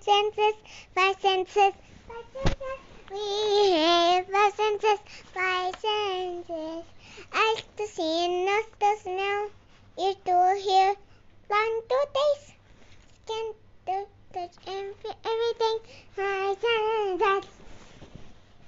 senses, five senses, five senses. We have five senses, five senses. Eyes to see, nose to smell, ear to hear, tongue to taste, skin to touch, and feel everything. Five senses.